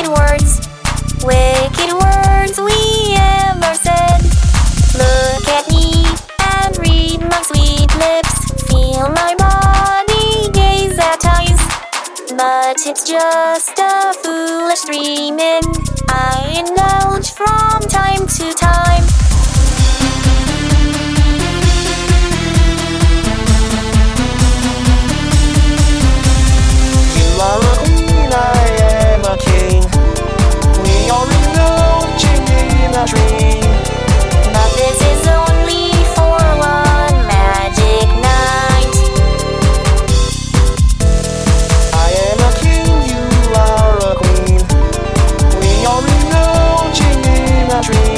wicked words we ever said. Look at me and read my sweet lips. Feel my body, gaze at eyes. But it's just a foolish dreaming I indulge from time to time. You are a queen, I am a king. We are indulging in a dream. But this is only for one magic night. I am a king, you are a queen. We are indulging in a dream.